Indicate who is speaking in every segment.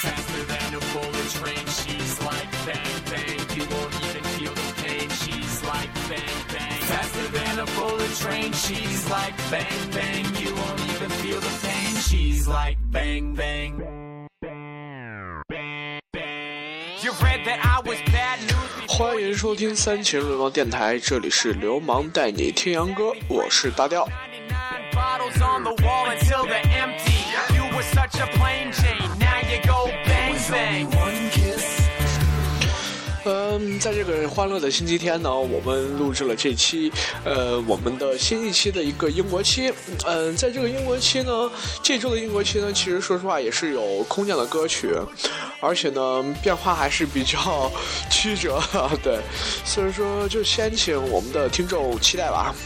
Speaker 1: Faster than a bullet train, she's like bang bang, you won't even feel the pain. She's like bang bang. Faster than a bullet train, she's like bang bang, you won't even feel the pain. She's like bang bang. You read that I was bad news.
Speaker 2: 欢迎收听三秦流氓电台，这里是流氓带你听洋歌，我是大调。在这个欢乐的星期天呢，我们录制了这期我们的新一期的一个英国期。在这个英国期呢，这周的英国期呢，其实说实话也是有空降的歌曲，而且呢变化还是比较曲折，对，所以说就先请我们的听众期待吧。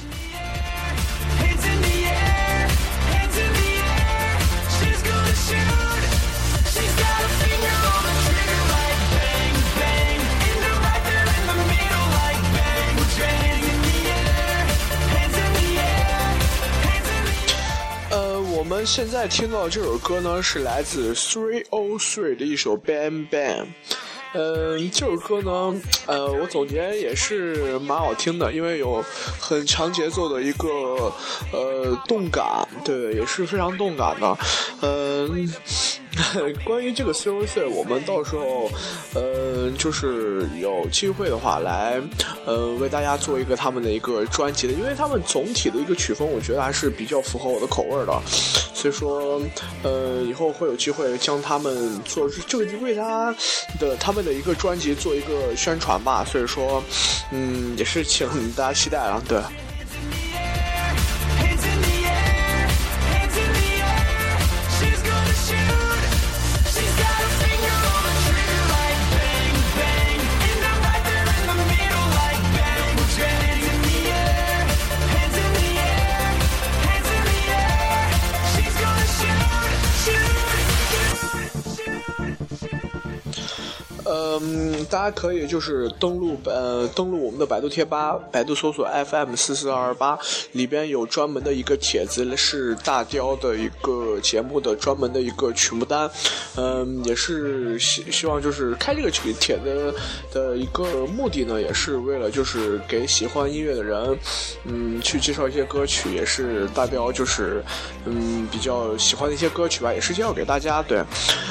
Speaker 2: 我们现在听到这首歌呢，是来自303的一首 Bang Bang。这首歌呢，我总结也是蛮好听的，因为有很强节奏的一个动感，对，也是非常动感的。关于这个303，我们到时候就是有机会的话来为大家做一个他们的一个专辑的，因为他们总体的一个曲风我觉得还是比较符合我的口味的，所以说以后会有机会将他们做这个为他们的一个专辑做一个宣传吧，所以说也是请大家期待了，对。大家可以就是登录我们的百度贴吧，百度搜索 FM44228，里边有专门的一个帖子，是大雕的一个节目的专门的一个曲目单。也是希望就是开这个帖子的一个目的呢，也是为了就是给喜欢音乐的人，去介绍一些歌曲，也是大雕就是比较喜欢的一些歌曲吧，也是介绍给大家。对，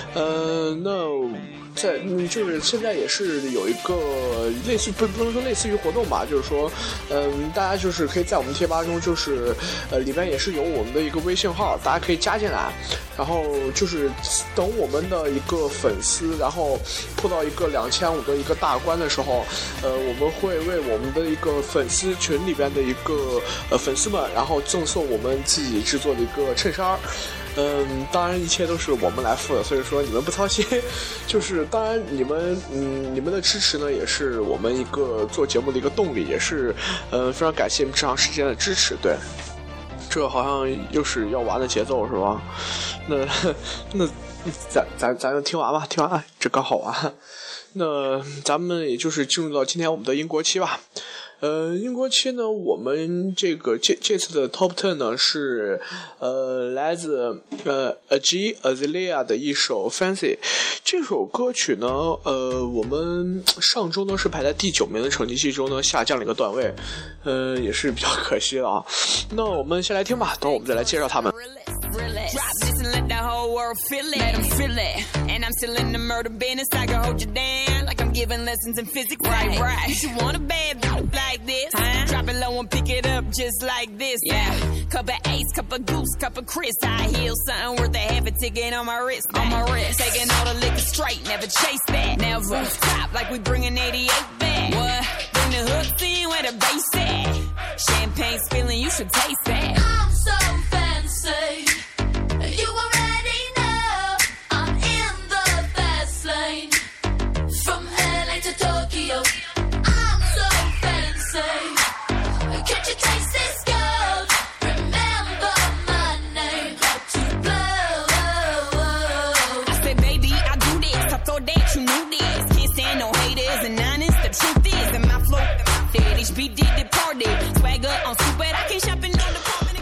Speaker 2: 就是现在也是有一个类似不能说类似于活动吧，就是说大家就是可以在我们贴吧中就是里边也是有我们的一个微信号，大家可以加进来，然后就是等我们的一个粉丝然后破到一个2500的一个大关的时候，我们会为我们的一个粉丝群里边的一个粉丝们然后赠送我们自己制作的一个衬衫。当然一切都是我们来付的，所以说你们不操心，就是当然你们的支持呢也是我们一个做节目的一个动力，也是非常感谢你们这长时间的支持。对，这好像又是要完的节奏是吧？那咱就听完吧，听完这刚好完。那咱们也就是进入到今天我们的英国期吧。英国期呢，我们这次的 Top 10呢是来自Azalea 的一首 Fancy。这首歌曲呢，我们上周呢是排在第9名的成绩，这周呢下降了一个段位，也是比较可惜的啊。那我们先来听吧，等我们再来介绍他们。
Speaker 3: Drop this and let the whole world feel it. Let them feel it. And I'm still in the murder business. I can hold you down like I'm giving lessons in physics. Right. You should want a bad bitch like this. Drop it low and pick it up just like this. Yeah. Cup of Ace, cup of Goose, cup of Chris. I heal something worth a half a ticket on my wrist. On my wrist. Taking all the liquor straight, never chase that. Now rooftop like we bringing 88 back. What? Bring the hooks in where the bass at. Champagne spilling, you should taste that.
Speaker 4: I'm so fancy. You already know I'm in the fast lane. From LA to Tokyo, I'm so fancy. Can't you taste this gold? Remember my name, how to blow.
Speaker 3: I said, baby, I do this. I thought that you knew this. Can't stand no haters and honest. The truth is that my flow, that HB did the party. Swagger on stupid, I can't shop in on the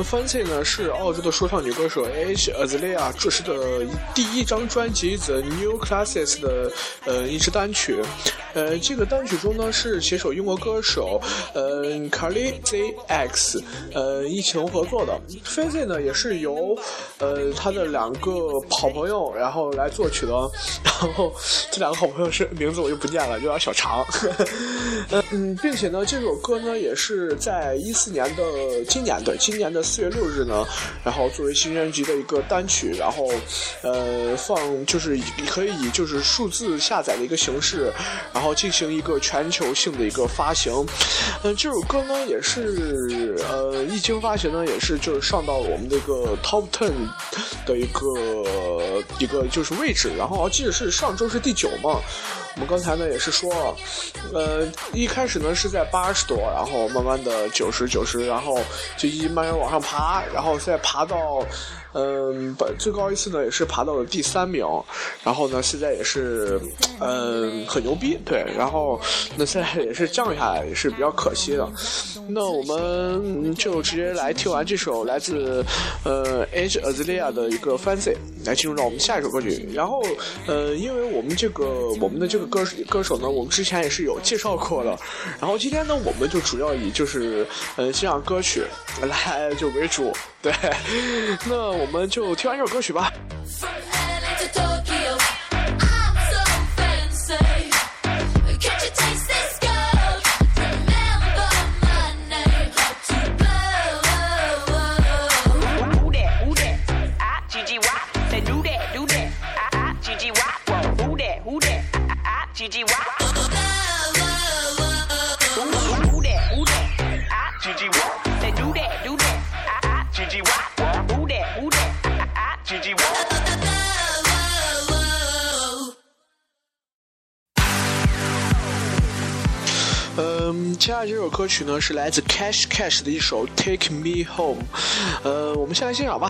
Speaker 2: Fancy 呢是澳洲的说唱女歌手 Age Azalea 这是的第一张专辑 The New Classes 的一支单曲。这个单曲中呢是携手英国歌手Carly ZX 一起合作的。Fancy 呢也是由他的2个好朋友然后来作曲的，然后这2个好朋友是名字我就不念了，有点小长。并且呢这首歌呢也是在14年的今年的4月6日呢，然后作为新专辑的一个单曲，然后放就是可以以就是数字下载的一个形式，然后进行一个全球性的一个发行。这首歌呢也是一经发行呢也是就是上到了我们的一个 Top 10的一个就是位置，然后我记得是上周是第9嘛。我们刚才呢也是说一开始呢是在80多，然后慢慢的90，然后就慢慢往上爬，然后再爬到最高一次呢也是爬到了第3名，然后呢现在也是很牛逼，对，然后那现在也是降下来，也是比较可惜的。那我们就直接来听完这首来自Age Azalea 的一个 Fancy， 来进入到我们下一首歌曲。然后因为我们的这个歌手呢我们之前也是有介绍过的，然后今天呢我们就主要以就是欣赏歌曲来就为主，对，那我们就听完这首歌曲吧。接下来这首歌曲呢是来自 Cash 的一首 Take Me Home， 我们先来欣赏吧。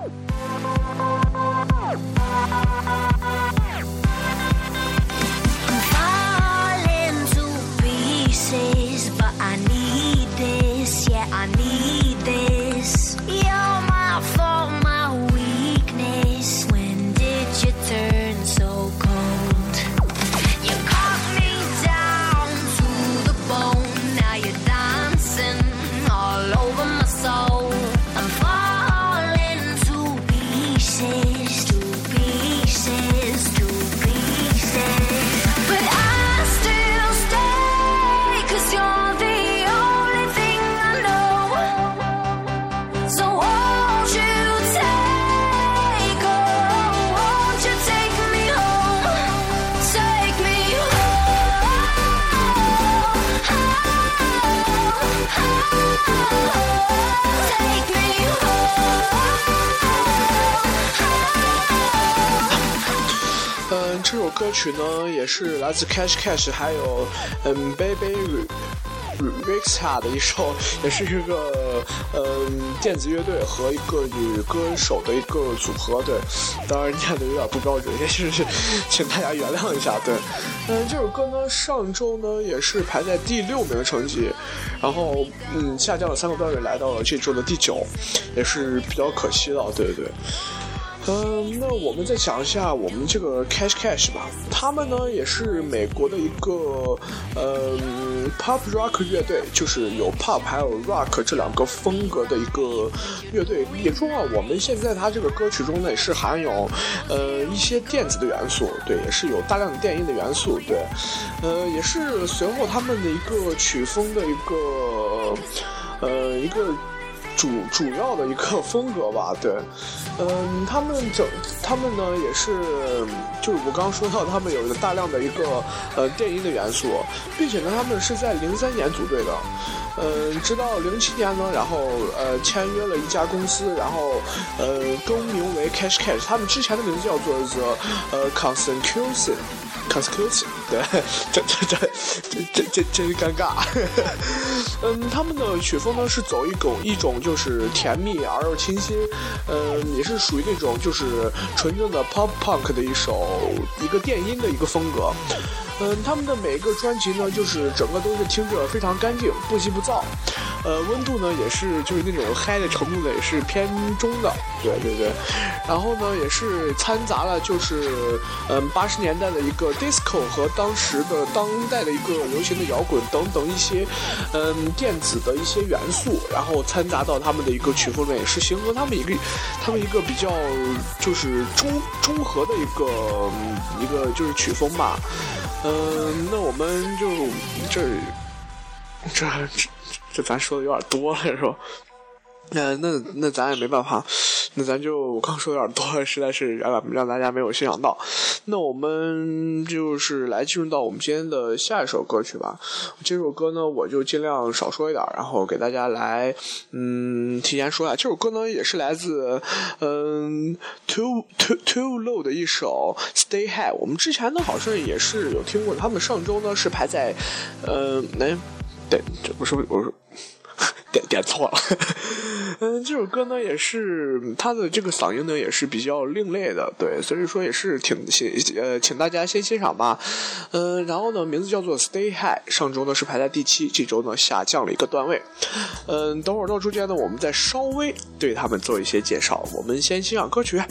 Speaker 2: 这首歌曲呢也是来自 Cash 还有Baby Rexha 的一首，也是一个电子乐队和一个女歌手的一个组合，对，当然念的有点不标准，也是请大家原谅一下，对。这首歌呢上周呢也是排在第6名的成绩，然后下降了3个标准，来到了这周的第9，也是比较可惜的，对。那我们再讲一下我们这个 Cash 吧，他们呢也是美国的一个pop rock 乐队，就是有 pop 还有 rock 这2个风格的一个乐队。也说啊，我们现在它这个歌曲中呢也是含有一些电子的元素，对，也是有大量的电音的元素，对，也是随后他们的一个曲风的一个主要的一个风格吧，对，他们呢也是，就是我刚刚说到，他们有大量的一个电音的元素，并且呢，他们是在03年组队的，直到07年呢，然后签约了一家公司，然后更名为 Cash， 他们之前的名字叫做 The Consecution，对，这真尴尬。他们的曲风呢是走一种就是甜蜜而又清新，也是属于那种就是纯正的 pop punk 的一个电音的一个风格。他们的每一个专辑呢，就是整个都是听着非常干净，不急不躁。 温度呢也是就是那种嗨的程度呢也是偏中的，对。然后呢也是掺杂了就是80年代的一个 disco 和当时的当代的一个流行的摇滚等等一些电子的一些元素，然后掺杂到他们的一个曲风里面，也是形成他们一个比较就是中和的一个就是曲风吧。那我们就这咱说的有点多了是吧？那咱也没办法，那咱就我刚说有点多，实在是让大家没有欣赏到。那我们就是来进入到我们今天的下一首歌曲吧。这首歌呢，我就尽量少说一点，然后给大家来提前说一下。这首歌呢，也是来自Too Low 的一首 Stay High。我们之前呢好像也是有听过，他们上周呢是排在对，这不是我说。点错了，这首歌呢也是他的这个嗓音呢也是比较另类的，对，所以说也是请大家先欣赏吧。然后呢名字叫做 Stay High， 上周呢是排在第7，这周呢下降了一个段位。等会儿到中间呢我们再稍微对他们做一些介绍，我们先欣赏歌曲。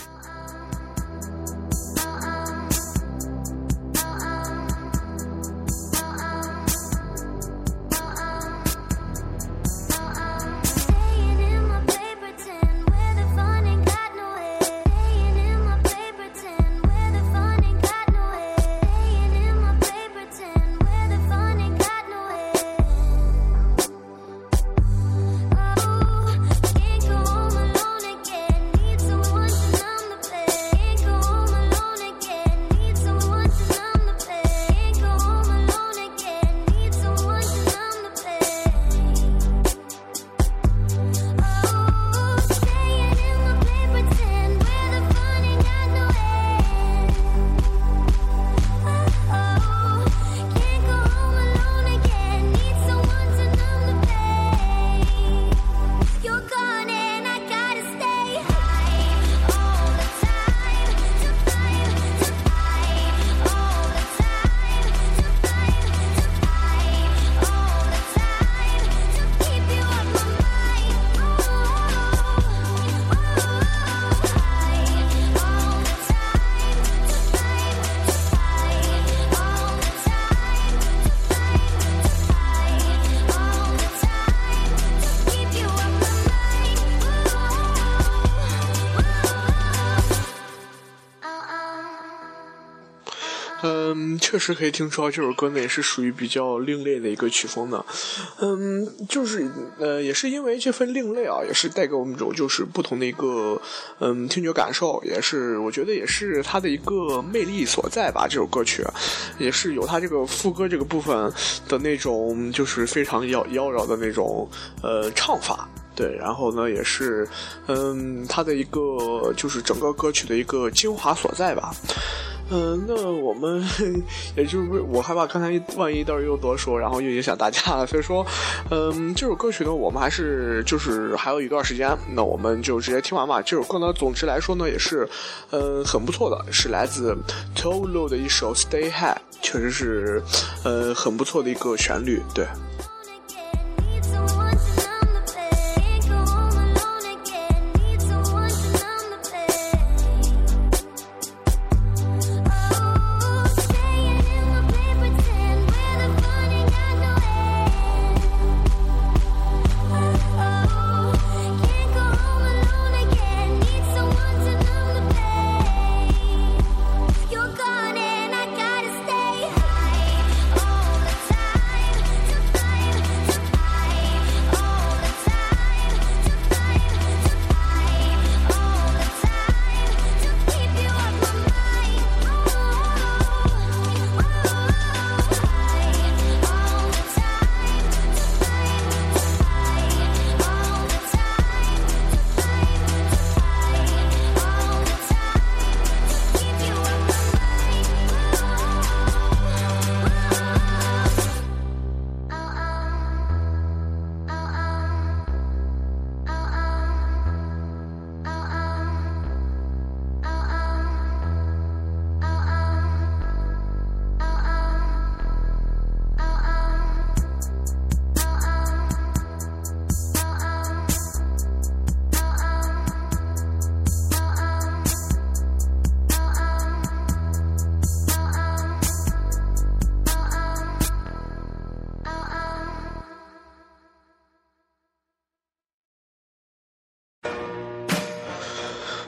Speaker 2: 确实可以听出来这首歌呢也是属于比较另类的一个曲风的。就是也是因为这份另类啊，也是带给我们一种就是不同的一个听觉感受，也是我觉得也是它的一个魅力所在吧。这首歌曲也是有它这个副歌这个部分的那种就是非常妖娆的那种唱法。对，然后呢也是它的一个就是整个歌曲的一个精华所在吧。那我们也就是我害怕刚才万一到时候又多说，然后又影响大家了，所以说这首歌曲呢我们还是就是还有一段时间，那我们就直接听完吧。这首歌呢总之来说呢也是很不错的，是来自 Too Low 的一首 Stay High， 确实是很不错的一个旋律。对，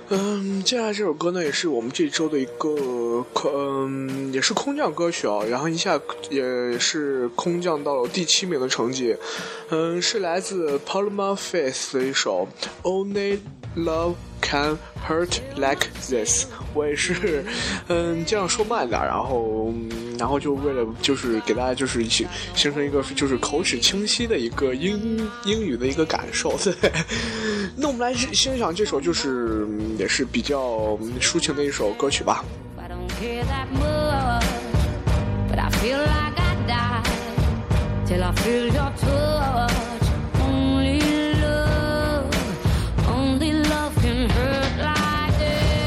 Speaker 2: 接下来这首歌呢，也是我们这周的一个也是空降歌曲啊，然后一下也是空降到了第7名的成绩。是来自 Paloma Faith 的一首 Only Love Can Hurt Like This。我也是这样说慢点，然后就为了就是给大家就是形成一个就是口齿清晰的一个英语的一个感受。对，那我们来欣赏这首就是也是比较抒情的一首歌曲吧。
Speaker 5: I don't care that much, but I feel like I die till I feel your touch. Only love can hurt like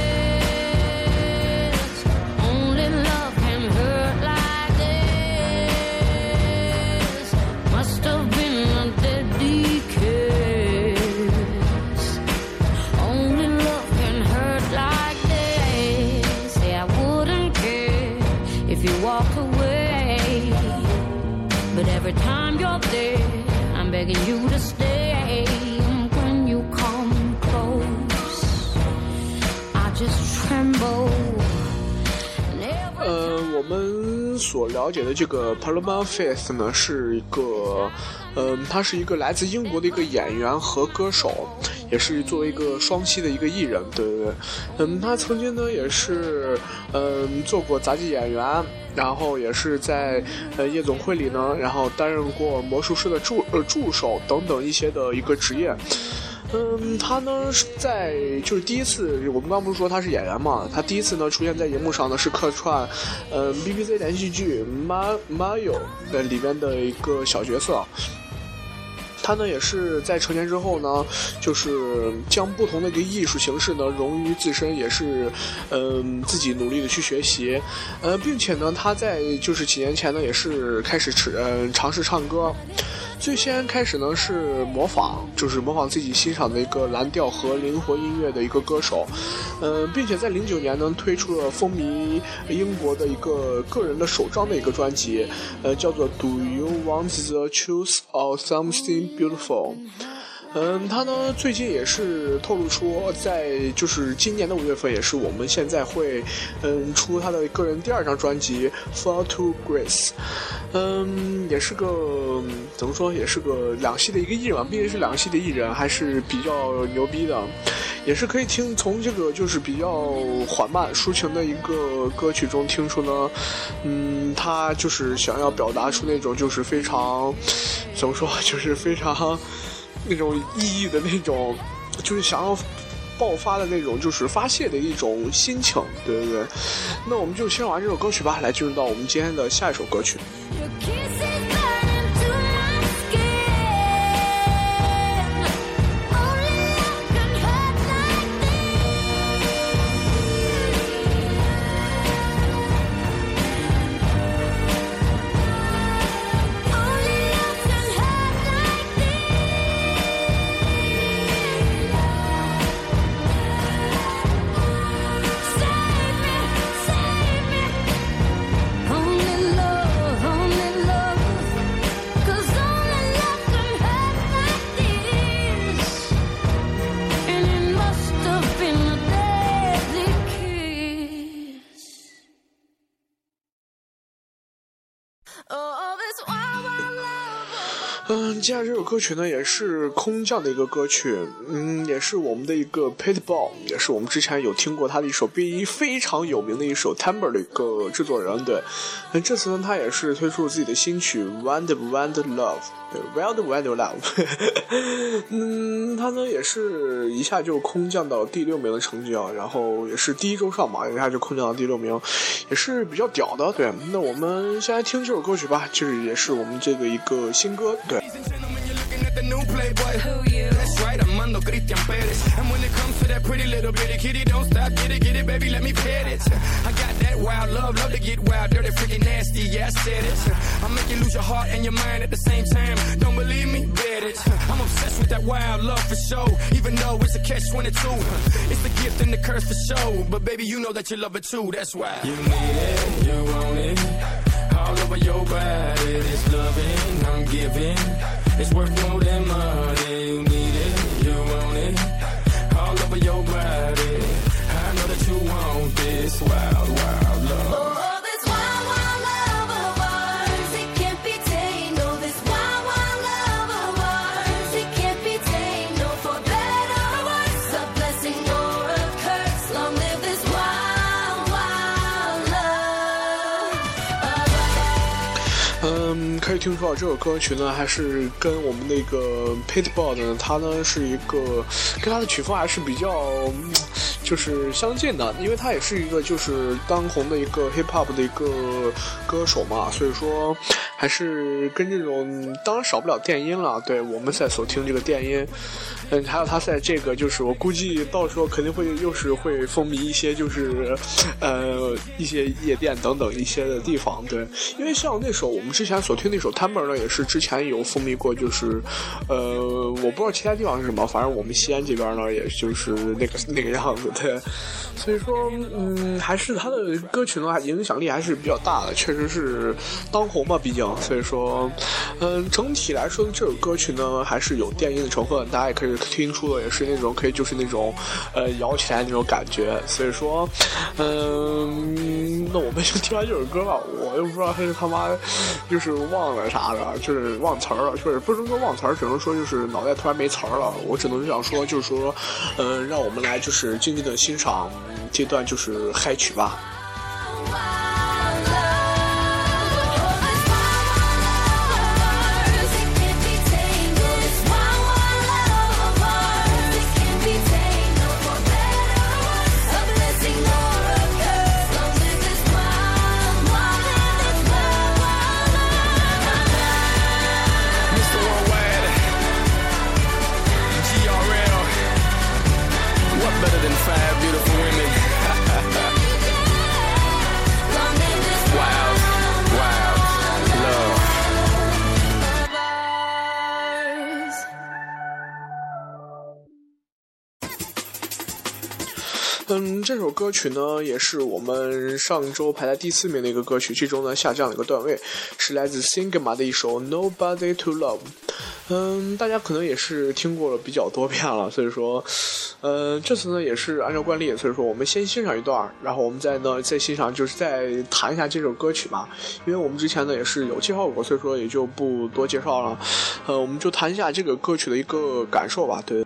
Speaker 5: this. Only love can hurt like this. Must have been a deadly kiss. Only love can hurt like this. Say I wouldn't care if you walked away, but every time you're there, I'm begging you to stay. When you come close, I just tremble.
Speaker 2: 我们所了解的这个 Paloma Faith 呢，是一个他是一个来自英国的一个演员和歌手，也是作为一个双栖的一个艺人，对对对。他曾经呢也是做过杂技演员，然后也是在夜总会里呢，然后担任过魔术师的助手等等一些的一个职业。他呢是在就是第一次，我们刚不是说他是演员嘛，他第一次呢出现在荧幕上呢是客串BBC 连续剧 Mario 里面的一个小角色。他呢也是在成年之后呢，就是将不同的一个艺术形式呢融于自身，也是自己努力的去学习，并且呢他在就是几年前呢也是开始尝试唱歌。最先开始呢是模仿自己欣赏的一个蓝调和灵活音乐的一个歌手，并且在09年呢推出了风靡英国的一个个人的首张的一个专辑，叫做 Do You Want the Truth or Something Beautiful。他呢最近也是透露出，在就是今年的5月份，也是我们现在会出他的个人第2张专辑 Fall to Grace。也是个怎么说，也是个两栖的一个艺人嘛，毕竟是两栖的艺人，还是比较牛逼的，也是可以从这个就是比较缓慢抒情的一个歌曲中听出呢，他就是想要表达出那种就是非常怎么说，就是非常那种意义的那种，就是想要爆发的那种，就是发泄的一种心情，对对对。那我们就先玩这首歌曲吧，来进入到我们今天的下一首歌曲。接下来这首歌曲呢也是空降的一个歌曲，也是我们的一个 Pitbull， 也是我们之前有听过他的一首非常有名的一首 Timber 的一个制作人，对。这次呢他也是推出了自己的新曲 Wild Wild Love， Wild Wild Love。他呢也是一下就空降到第6名的成绩啊，然后也是第1周上嘛，一下就空降到第6名，也是比较屌的，对。那我们先来听这首歌曲吧，这也是我们这个一个新歌，对。
Speaker 6: The new playboy, that's right, Armando Christian Perez. And when it comes to that pretty little bitty kitty, don't stop, get it, baby, let me pet it. I got that wild love to get wild, dirty, freaking nasty, yeah, I said it. I make you lose your heart and your mind at the same time. Don't believe me? Bet it. I'm obsessed with that wild love for sure, even though it's a catch-22. It's the gift and the curse for sure, but baby, you know that you love it too, that's why. You need it, you want it, all over your body, this loving I'm giving.It's worth more than money. You need it, you want it, all over your body. wild, wild love.
Speaker 4: Oh, this wild, wild love of ours, it can't be tamed. Oh, this wild, wild love of ours, it can't be tamed. No, for better or worse, a blessing or a curse. Long live this wild, wild love of ours.
Speaker 2: 可以听出这首歌曲呢，还是跟我们那个 Pitbull 呢，它呢是一个跟它的曲风还是比较就是相近的，因为他也是一个就是当红的一个 hip hop 的一个歌手嘛，所以说还是跟这种当然少不了电音了。对，我们在所听这个电音，还有他在这个就是我估计到时候肯定会又是会风靡一些就是一些夜店等等一些的地方。对，因为像那首我们之前所听那首 Timber 呢，也是之前有风靡过，就是我不知道其他地方是什么，反正我们西安这边呢，也就是那个样子。对，所以说还是他的歌曲呢影响力还是比较大的，确实是当红嘛，毕竟。所以说整体来说这首歌曲呢还是有电音的成分，大家也可以听出的也是那种可以就是那种摇起来那种感觉。所以说那我们就听完这首歌吧，我又不知道他是他妈就是忘了啥的，就是忘词儿了，就是不能说忘词儿，只能说就是脑袋突然没词儿了。我只能这样说，就是说让我们来就是静静的欣赏这段就是嗨曲吧。这首歌曲呢也是我们上周排在第4名的一个歌曲，这周呢下降了一个段位，是来自 Sigma 的一首 Nobody to Love。大家可能也是听过了比较多遍了，所以说这次呢也是按照惯例，所以说我们先欣赏一段，然后我们再欣赏就是再谈一下这首歌曲吧，因为我们之前呢也是有介绍过，所以说也就不多介绍了。我们就谈一下这个歌曲的一个感受吧。对。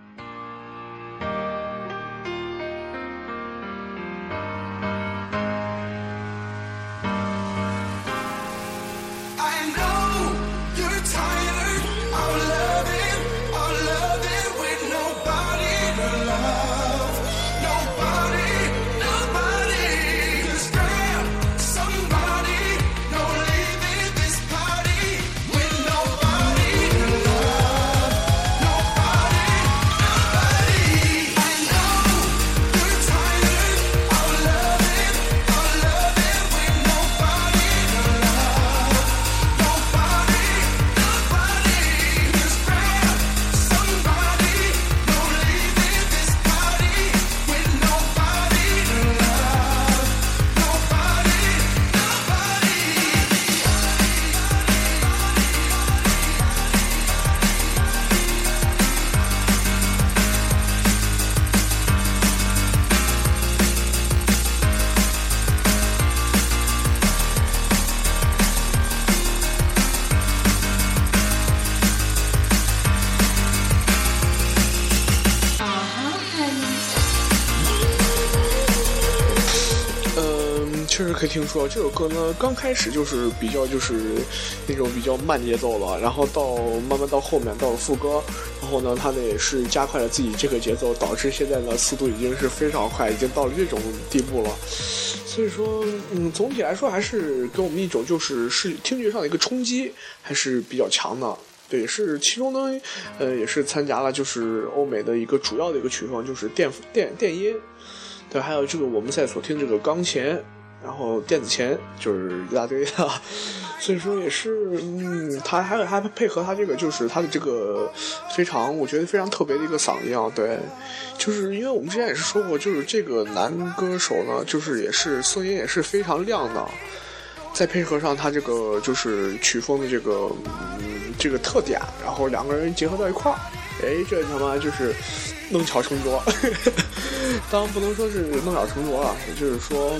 Speaker 2: 确实可以听出这首歌呢，刚开始就是比较就是那种比较慢节奏了，然后慢慢到后面到了副歌，然后呢，他呢也是加快了自己这个节奏，导致现在呢速度已经是非常快，已经到了这种地步了。所以说，总体来说还是给我们一种就是听觉上的一个冲击，还是比较强的。对，也是其中呢，也是参加了就是欧美的一个主要的一个曲风，就是电音，对，还有这个我们在所听这个钢琴。然后电子琴就是一大堆的，所以说也是，他还配合他这个就是他的这个我觉得非常特别的一个嗓音啊，对，就是因为我们之前也是说过，就是这个男歌手呢，就是也是声音也是非常亮的，再配合上他这个就是曲风的这个特点，然后两个人结合到一块儿，这他妈就是弄巧成拙。 当然不能说是弄巧成拙了，也就是说，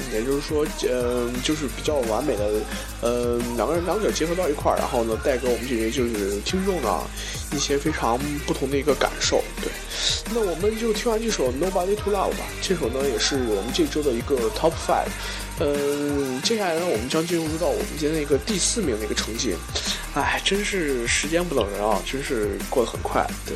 Speaker 2: 就是比较完美的，两者结合到一块儿，然后呢，带给我们这些就是听众呢一些非常不同的一个感受。对，那我们就听完这首 Nobody to Love 吧。这首呢也是我们这周的一个 Top 5。接下来呢，我们将进入到我们今天的一个第4名的一个成绩。哎，真是时间不等人啊，真是过得很快。对。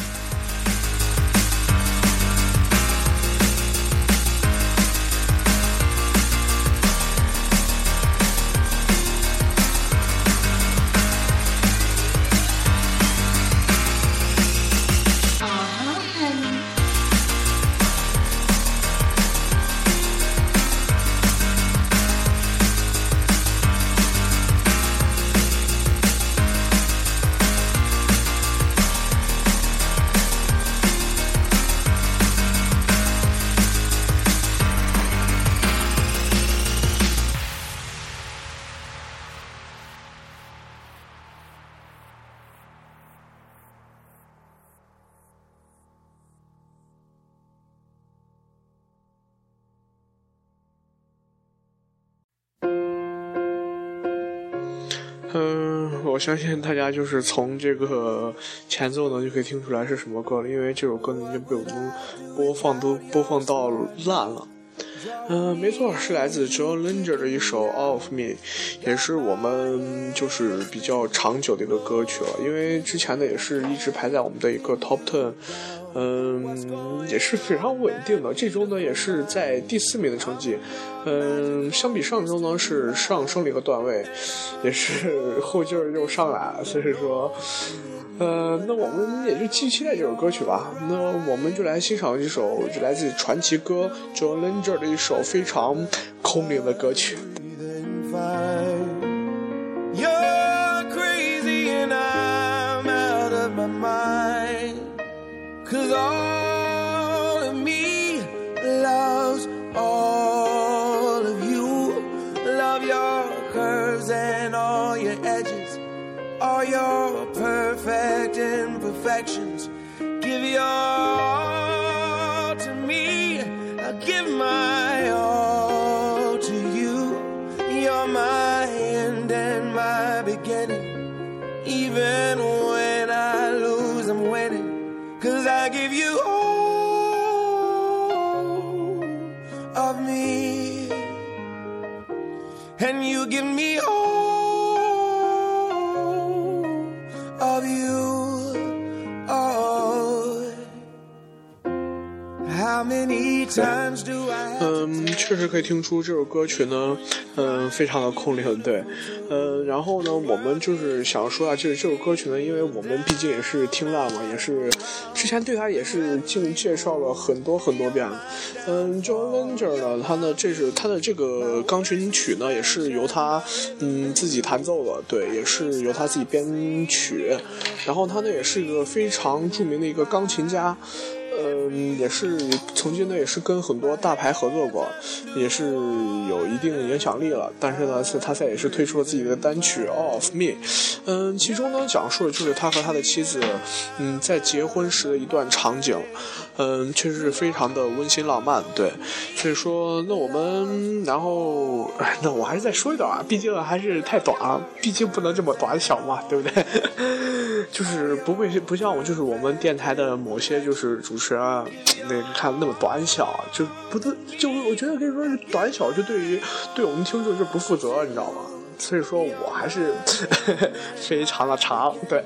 Speaker 2: 我相信大家就是从这个前奏呢就可以听出来是什么歌了，因为这首歌呢已经被我们播放到烂了。没错，是来自 John Legend 的一首 All of Me， 也是我们就是比较长久的一个歌曲了，因为之前呢也是一直排在我们的一个 Top 10，也是非常稳定的。这周呢也是在第4名的成绩，相比上周呢是上升了一个段位，也是后劲儿又上来了，所以说。那我们也就继续期待这首歌曲吧。那我们就来欣赏一首就来自传奇歌 John Legend 的一首非常空灵的歌曲。
Speaker 7: You're crazy and I'm out of my mind, 'cause all of me loves all of you. Love your curves and all your edges, all your perfect imperfections. Give your all to me, I'll give my all to you. You're my end and my beginning. Even when I lose, I'm winning, 'cause I give you all of me, and you give me all of you. Oh, how many times do I
Speaker 2: 确实可以听出这首歌曲呢非常的空灵，对。然后呢我们就是想说啊，就是这首歌曲呢，因为我们毕竟也是听烂嘛，也是之前对它也是介绍了很多遍。John Legend 呢，他的这个钢琴曲呢也是由他自己弹奏的，对，也是由他自己编曲。然后他呢也是一个非常著名的一个钢琴家。也是曾经呢也是跟很多大牌合作过，也是有一定的影响力了。但是呢他也是推出了自己的单曲 All of Me。其中呢讲述的就是他和他的妻子在结婚时的一段场景。确实是非常的温馨浪漫，对。所以说那我们然后那我还是再说一段啊，毕竟还是太短了，毕竟不能这么短小嘛，对不对？就是不像我就是我们电台的某些就是主持人那个看那么短小，就不对，就我觉得可以说是短小，就对我们听众就不负责，你知道吗？所以说我还是非常的长，对。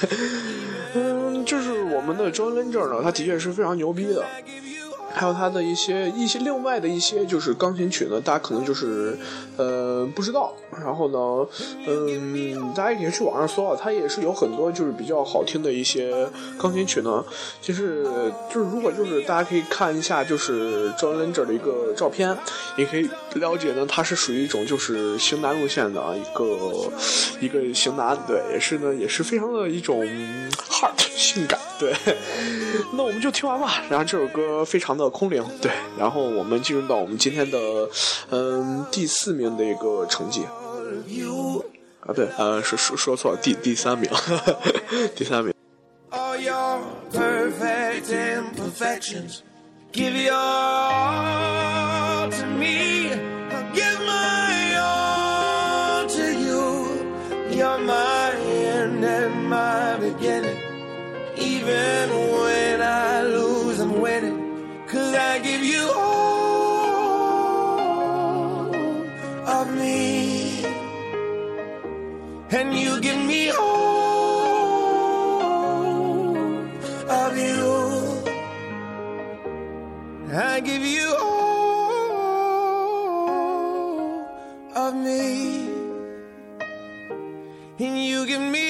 Speaker 2: 就是我们的 John Legend 呢，他的确是非常牛逼的。还有他的一些另外的一些就是钢琴曲呢，大家可能就是不知道。然后呢大家也可以去网上搜啊，他也是有很多就是比较好听的一些钢琴曲呢。就是如果就是大家可以看一下就是 John Legend 的一个照片，也可以了解呢，他是属于一种就是型男路线的一个型男，对，也是非常的一种 heart 性感，对。那我们就听完吧。然后这首歌非常的空灵，对。然后我们进入到我们今天的第4名的一个成绩啊，对，是说错了，第3名，第3名。
Speaker 7: All your perfect imperfections, Give your all to me. I'll give my all to you. You're my end and my beginning. Even when I lose, I'm winning. 'Cause I give you all of me, and you give me all of you. I give you all of me, and you give me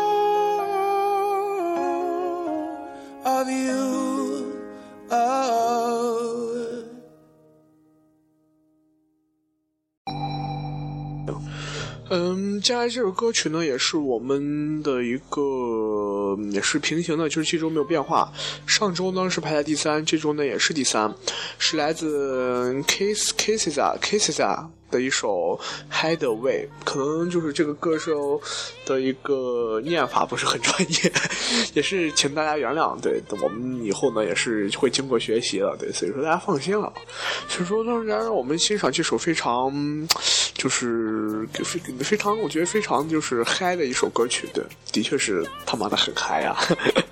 Speaker 7: all of you. Oh.
Speaker 2: 接下来这首歌曲呢，也是我们的一个，也是平行的，就是这周没有变化。上周呢是排在第3，这周呢也是第3，是来自 Kesiza 的一首 Hideaway， 可能就是这个歌手的一个念法不是很专业，也是请大家原谅。对，我们以后呢也是会经过学习了，对，所以说大家放心了。所以说，当然让我们欣赏这首非常，就是非常，我觉得非常就是嗨的一首歌曲，对，的确是他妈的很嗨呀。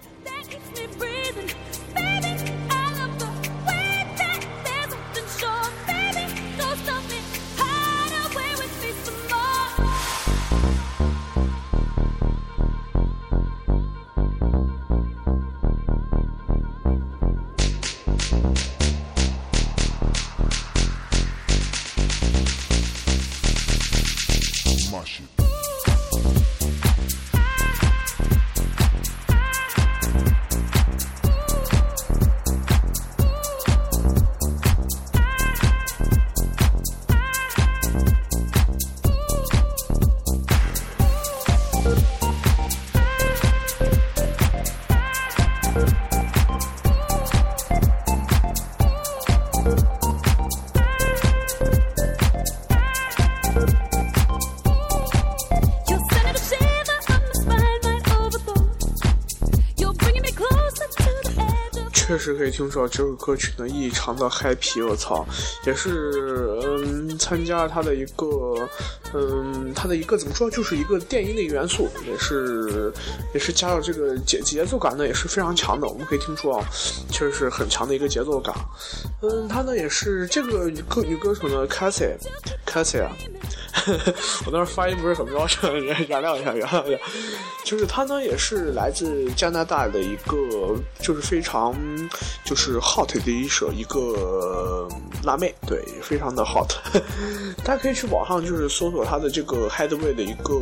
Speaker 2: 确实可以听出来这首歌曲呢异常的嗨皮，我操，也是参加他的一个怎么说，就是一个电音的一个元素，也是加入这个节奏感呢也是非常强的，我们可以听出啊，确实是很强的一个节奏感。他呢也是这个女歌手呢 Cassie 啊。我当时发音不是很标准，原谅一下。就是她呢，也是来自加拿大的一个，就是非常就是 hot 的一个辣妹，对，非常的 hot。大家可以去网上就是搜索她的这个 Hideaway 的一个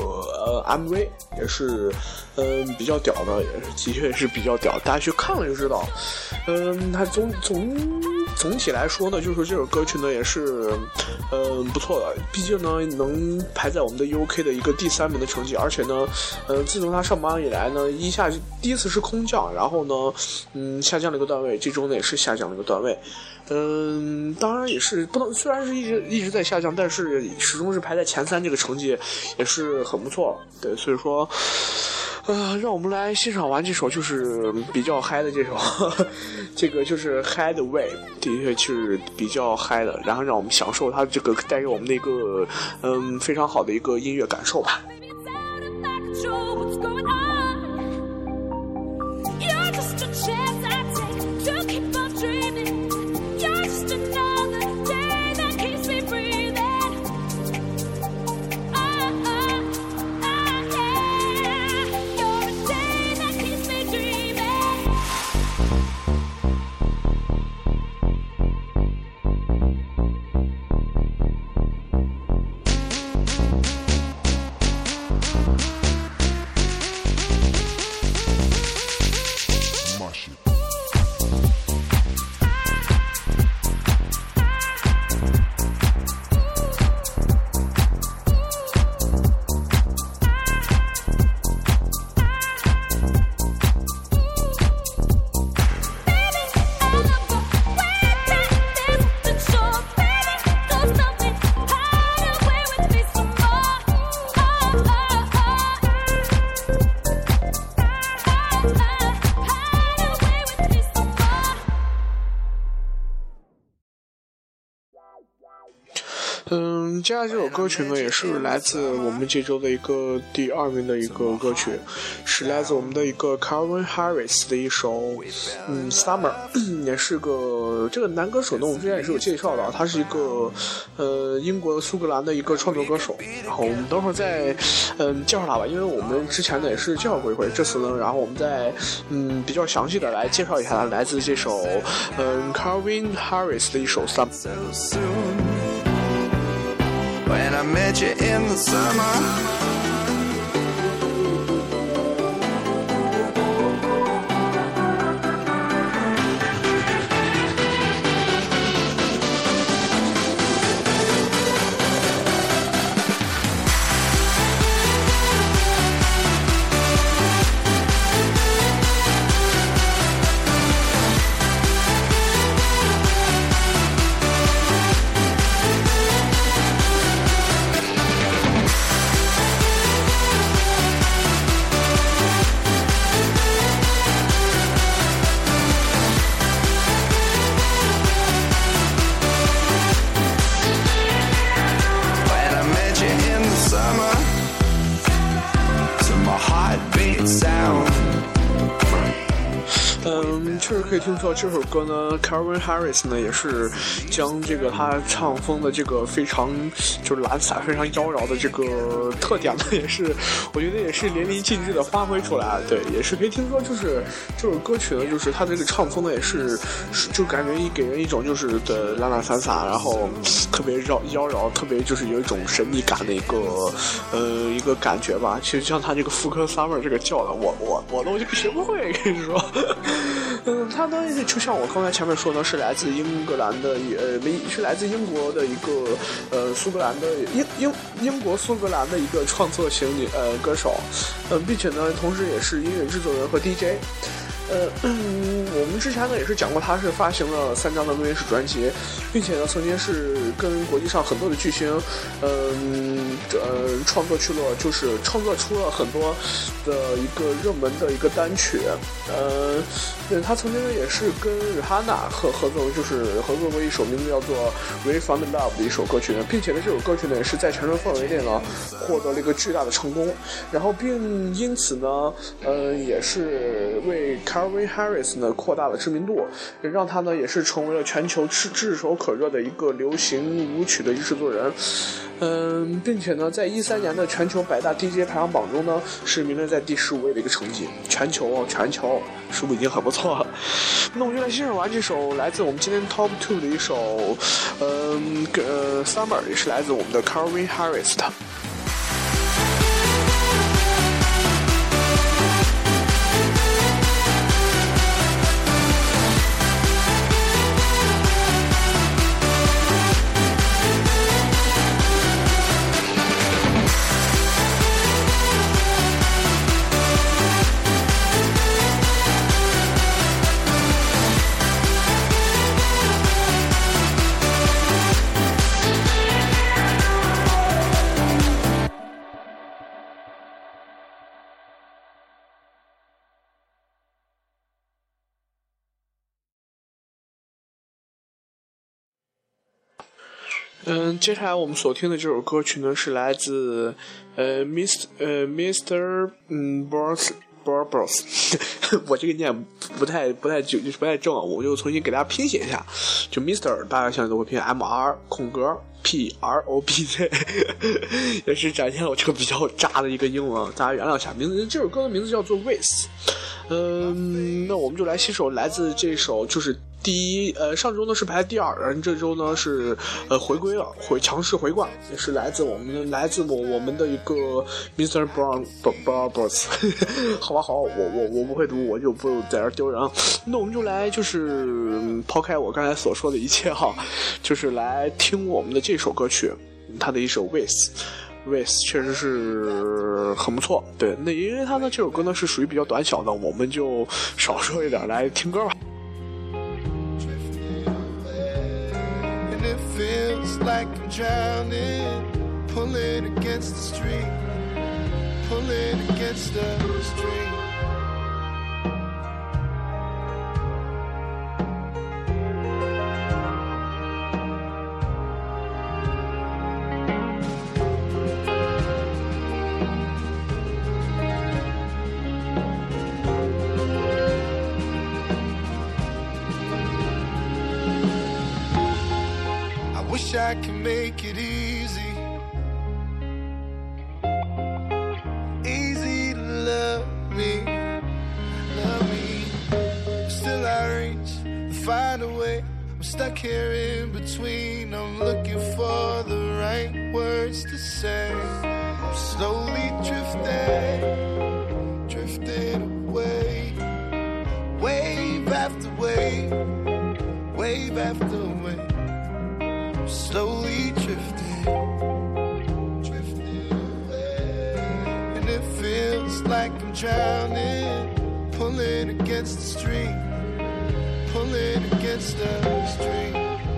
Speaker 2: MV， 也是比较屌的，也是的确是比较屌，大家去看了就知道。它总体来说呢，就是这首歌曲呢也是不错的，毕竟呢能排在我们的 UK 的一个第3名的成绩，而且呢自从他上榜以来呢，第一次是空降，然后呢下降了一个段位，这周呢也是下降了一个段位。当然也是不能，虽然是一直在下降，但是始终是排在前3，这个成绩也是很不错。对，所以说让我们来欣赏完这首就是比较嗨的这首这个就是 Hideaway， 的确是比较嗨的，然后让我们享受它这个带给我们的一个非常好的一个音乐感受吧。 接下来这首歌曲呢，也是来自我们这周的一个第2名的一个歌曲，是来自我们的一个 Calvin Harris 的一首Summer， 也是个这个男歌手呢，我们之前也是有介绍的，他是一个英国苏格兰的一个创作歌手。然后我们等会儿再介绍他吧，因为我们之前呢也是介绍过一回，这次呢，然后我们再比较详细的来介绍一下他来自这首Calvin Harris 的一首
Speaker 7: Summer。When I met you in the summer, sound
Speaker 2: 确实可以听出这首歌呢 Calvin Harris 呢也是将这个他唱风的这个非常就是懒散非常妖娆的这个特点呢也是我觉得也是淋漓尽致的发挥出来。对，也是可以听说就是这首歌曲呢就是他这个唱风呢也是就感觉给人一种就是的懒懒散散，然后特别妖娆，特别就是有一种神秘感的一个感觉吧。其实像他这个妇科 Summer 这个叫的我都学不会，跟你说。他呢就像我刚才前面说的，是来自英格兰的是来自英国的一个苏格兰的英国苏格兰的一个创作型歌手，并且呢同时也是音乐制作人和 DJ。我们之前呢也是讲过，他是发行了3张的录音室专辑，并且呢曾经是跟国际上很多的巨星，创作出了很多的一个热门的一个单曲。他曾经也是跟日哈娜合作过一首名字叫做《We Found Love》的一首歌曲呢，并且呢这首歌曲呢也是在全球范围内呢获得了一个巨大的成功，然后并因此呢也是为Calvin Harris 呢扩大了知名度，让他呢也是成为了全球炙手可热的一个流行舞曲的制作人。并且呢在13年的全球100大 DJ 排行榜中呢是名列在第15位的一个成绩，全球是不是已经很不错了？那我们就来欣赏完这首来自我们今天 Top 2的一首Summer， 也是来自我们的 Calvin Harris 的。接下来我们所听的这首歌曲呢是来自Mr. Bros 我这个念不太正，我就重新给大家拼写一下，就 Mr. 大家现在都会拼 MR_PROBZ 也是展现了我这个比较渣的一个英文，大家原谅一下。这首歌的名字叫做 With。那我们就来欣赏来自这首就是上周呢是排第2，然后这周呢是回归了，强势回冠，也是来自我们的一个 Mr. Bros 好吧，我不会读，我就不在这丢人。那我们就来就是抛开我刚才所说的一切哈，就是来听我们的这首歌曲，它的一首 With 确实是很不错。对，那因为它呢这首歌呢是属于比较短小的，我们就少说一点来听歌吧。
Speaker 7: Feels like I'm drowning, pulling against the street, pulling against the street. I can make it easy. Easy to love me. Still I reach and find a way. I'm stuck here in between. I'm looking for the right words to say. I'm slowly drifting away. Wave after wave, wave after wave. I'm slowly drifting away. And it feels like I'm drowning, pulling against the stream, pulling against the stream.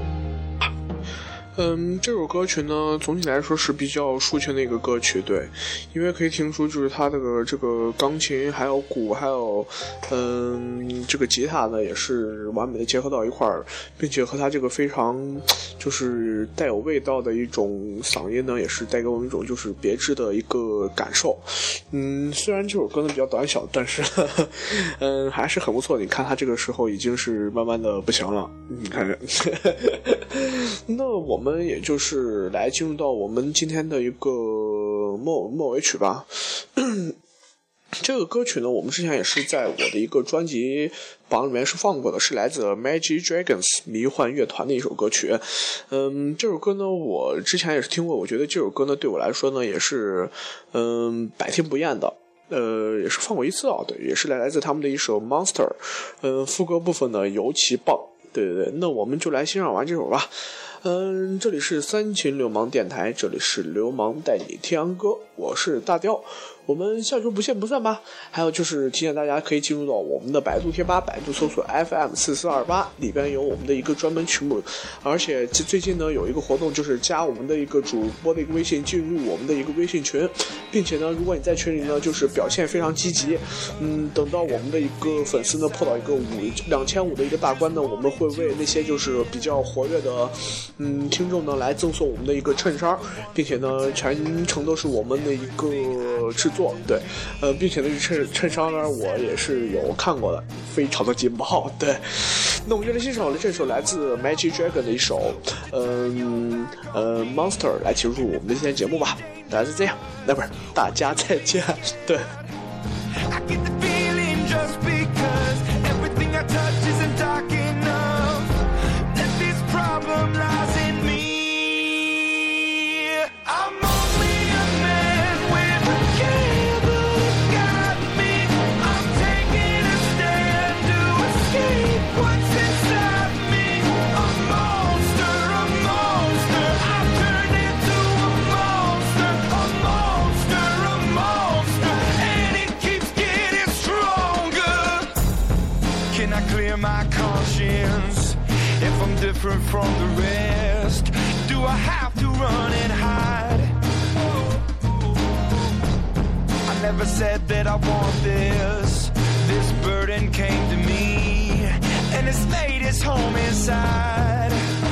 Speaker 2: 这首歌曲呢，总体来说是比较抒情的一个歌曲，对，因为可以听出就是它这个钢琴还有鼓还有这个吉他呢也是完美的结合到一块儿，并且和它这个非常就是带有味道的一种嗓音呢，也是带给我们一种就是别致的一个感受。虽然这首歌呢比较短小，但是还是很不错。你看它这个时候已经是慢慢的不行了，你看看。那我们也就是来进入到我们今天的一个末尾曲吧。这个歌曲呢，我们之前也是在我的一个专辑榜里面是放过的，是来自 Magic Dragons 迷幻乐团的一首歌曲。这首歌呢，我之前也是听过，我觉得这首歌呢，对我来说呢，也是百听不厌的。也是放过一次啊，对，也是来自他们的一首 Monster。副歌部分呢尤其棒，对，那我们就来欣赏完这首吧。这里是三秦流氓电台，这里是流氓带你听歌，我是大雕，我们下周不见不散吧。还有就是提醒大家可以进入到我们的百度贴吧，百度搜索 FM4428，里边有我们的一个专门曲目，而且最近呢有一个活动，就是加我们的一个主播的一个微信，进入我们的一个微信群，并且呢如果你在群里呢就是表现非常积极，等到我们的一个粉丝呢破到一个2500的一个大关呢，我们会为那些就是比较活跃的听众呢来赠送我们的一个衬衫，并且呢全程都是我们的一个制作，对，并且呢衬衫呢我也是有看过的，非常的劲爆，对。那我们就来欣赏了这首来自 Magic Dragon 的一首Monster 来结束我们的今天节目吧。大家就这样，那不是大家再见，对。
Speaker 7: I get the feeling just because everything I touch isn't dark enough, that this problem lies in me. I'm only a man with a candle that got me. I'm taking a stand to escape what's inside me. A monster, I've turned into a monster, and it keeps getting stronger. Can I clear my conscience if I'm different from the rest? Do I have to run and hide? I never said that I want this. This burden came to me, and it's made its home inside.